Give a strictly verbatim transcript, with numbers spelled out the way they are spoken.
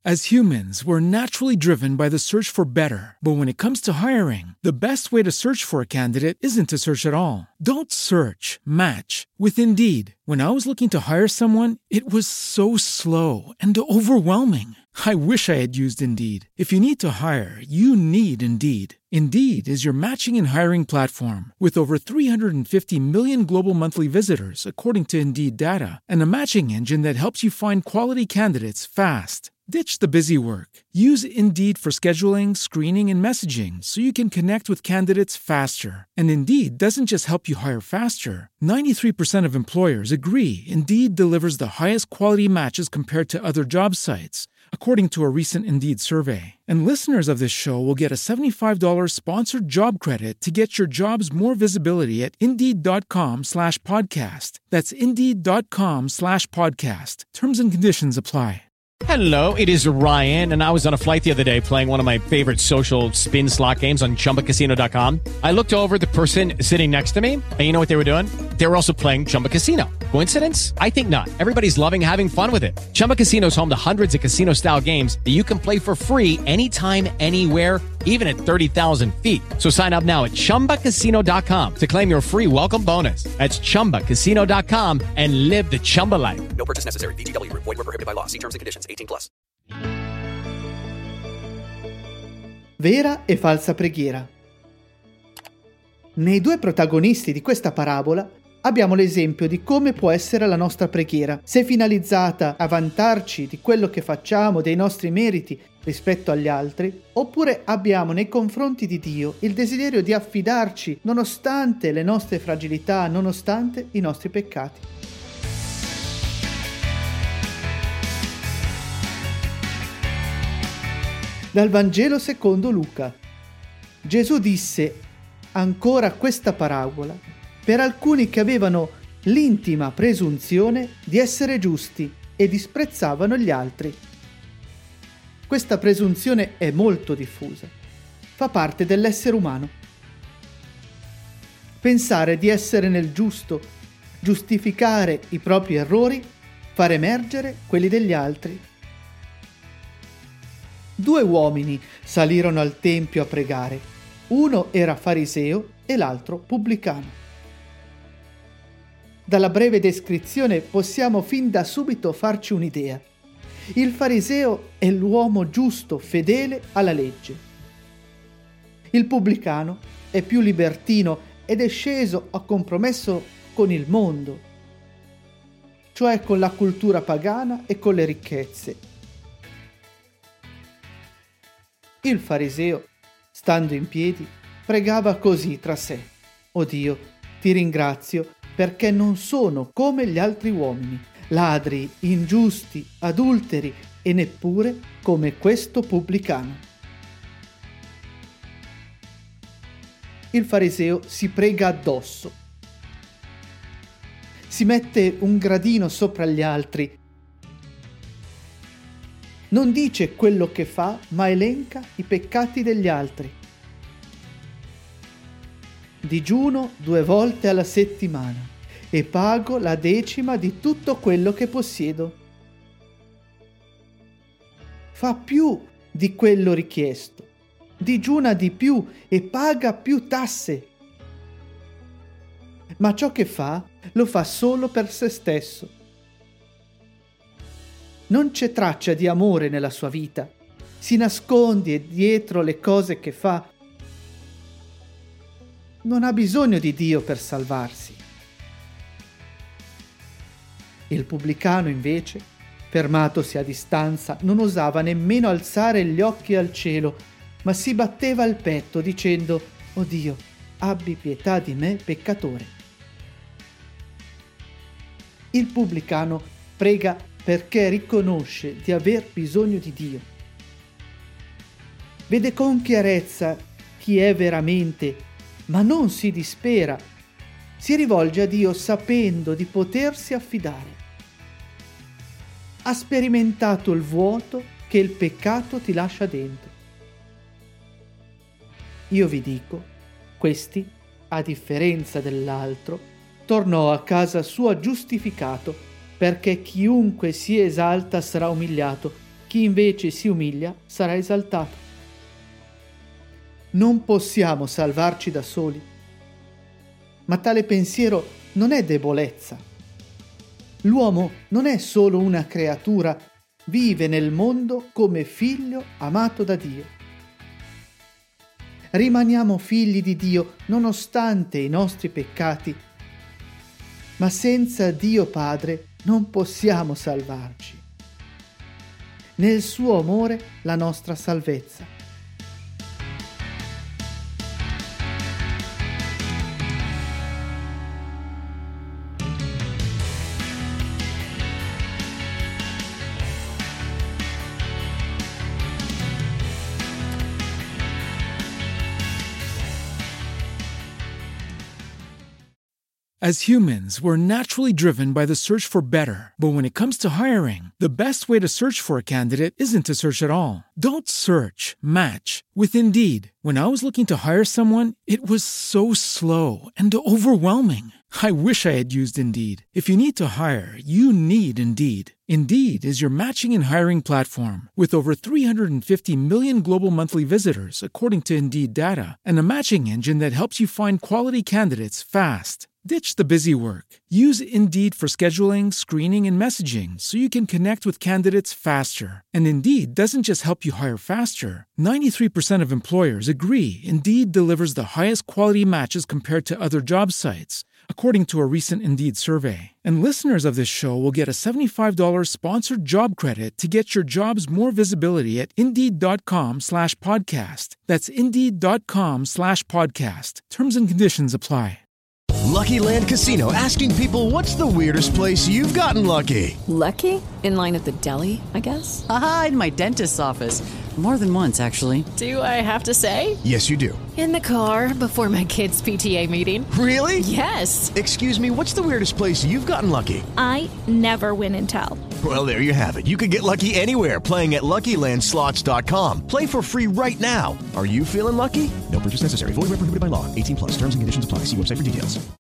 As humans, we're naturally driven by the search for better. But when it comes to hiring, the best way to search for a candidate isn't to search at all. Don't search, match with Indeed. When I was looking to hire someone, it was so slow and overwhelming. I wish I had used Indeed. If you need to hire, you need Indeed. Indeed is your matching and hiring platform with over three hundred fifty million global monthly visitors, according to Indeed data, and a matching engine that helps you find quality candidates fast. Ditch the busy work. Use Indeed for scheduling, screening, and messaging so you can connect with candidates faster. And Indeed doesn't just help you hire faster. ninety-three percent of employers agree Indeed delivers the highest quality matches compared to other job sites, according to a recent Indeed survey. And listeners of this show will get a seventy-five dollars sponsored job credit to get your jobs more visibility at Indeed.com slash podcast. That's Indeed.com slash podcast. Terms and conditions apply. Hello, it is Ryan, and I was on a flight the other day playing one of my favorite social spin slot games on Chumba Casino dot com. I looked over at the person sitting next to me, and you know what they were doing? They were also playing Chumba Casino. Coincidence? I think not. Everybody's loving having fun with it. Chumba Casino is home to hundreds of casino-style games that you can play for free anytime, anywhere, even at thirty thousand feet. So sign up now at Chumba Casino dot com to claim your free welcome bonus. That's Chumba Casino dot com and live the Chumba life. No purchase necessary. V G W. Void where prohibited by law. See terms and conditions. eighteen plus. Vera e falsa preghiera. Nei due protagonisti di questa parabola abbiamo l'esempio di come può essere la nostra preghiera, se finalizzata a vantarci di quello che facciamo, dei nostri meriti rispetto agli altri, oppure abbiamo nei confronti di Dio il desiderio di affidarci nonostante le nostre fragilità, nonostante i nostri peccati. Dal Vangelo secondo Luca. Gesù disse ancora questa parabola per alcuni che avevano l'intima presunzione di essere giusti e disprezzavano gli altri. Questa presunzione è molto diffusa, fa parte dell'essere umano. Pensare di essere nel giusto, giustificare i propri errori, far emergere quelli degli altri. Due uomini salirono al tempio a pregare. Uno era fariseo e l'altro pubblicano. Dalla breve descrizione possiamo fin da subito farci un'idea. Il fariseo è l'uomo giusto, fedele alla legge. Il pubblicano è più libertino ed è sceso a compromesso con il mondo, cioè con la cultura pagana e con le ricchezze. Il fariseo, stando in piedi, pregava così tra sé: «O Dio, ti ringrazio perché non sono come gli altri uomini, ladri, ingiusti, adulteri e neppure come questo pubblicano». Il fariseo si prega addosso. Si mette un gradino sopra gli altri. Non dice quello che fa, ma elenca i peccati degli altri. Digiuno due volte alla settimana e pago la decima di tutto quello che possiedo. Fa più di quello richiesto, digiuna di più e paga più tasse. Ma ciò che fa, lo fa solo per se stesso. Non c'è traccia di amore nella sua vita, si nasconde dietro le cose che fa. Non ha bisogno di Dio per salvarsi. Il pubblicano, invece, fermatosi a distanza, non osava nemmeno alzare gli occhi al cielo, ma si batteva il petto dicendo: «O Dio, abbi pietà di me, peccatore». Il pubblicano prega perché riconosce di aver bisogno di Dio. Vede con chiarezza chi è veramente, ma non si dispera. Si rivolge a Dio sapendo di potersi affidare. Ha sperimentato il vuoto che il peccato ti lascia dentro. Io vi dico, questi, a differenza dell'altro, tornò a casa sua giustificato, perché chiunque si esalta sarà umiliato, Chi invece si umilia sarà esaltato. Non possiamo salvarci da soli, ma tale pensiero non è debolezza. L'uomo non è solo una creatura, vive nel mondo come figlio amato da Dio. Rimaniamo figli di Dio nonostante i nostri peccati, ma senza Dio Padre non possiamo salvarci. Nel suo amore la nostra salvezza. As humans, we're naturally driven by the search for better. But when it comes to hiring, the best way to search for a candidate isn't to search at all. Don't search, match with Indeed. When I was looking to hire someone, it was so slow and overwhelming. I wish I had used Indeed. If you need to hire, you need Indeed. Indeed is your matching and hiring platform with over three hundred fifty million global monthly visitors, according to Indeed data, and a matching engine that helps you find quality candidates fast. Ditch the busy work. Use Indeed for scheduling, screening, and messaging so you can connect with candidates faster. And Indeed doesn't just help you hire faster. ninety-three percent of employers agree Indeed delivers the highest quality matches compared to other job sites, according to a recent Indeed survey. And listeners of this show will get a seventy-five dollars sponsored job credit to get your jobs more visibility at Indeed.com slash podcast. That's Indeed.com slash podcast. Terms and conditions apply. Lucky Land Casino, asking people, what's the weirdest place you've gotten lucky? Lucky? In line at the deli, I guess? Aha, in my dentist's office. More than once, actually. Do I have to say? Yes, you do. In the car before my kids' P T A meeting. Really? Yes. Excuse me, what's the weirdest place you've gotten lucky? I never win and tell. Well, there you have it. You can get lucky anywhere, playing at Lucky Land Slots dot com. Play for free right now. Are you feeling lucky? No purchase necessary. Void where prohibited by law. eighteen plus. Terms and conditions apply. See website for details.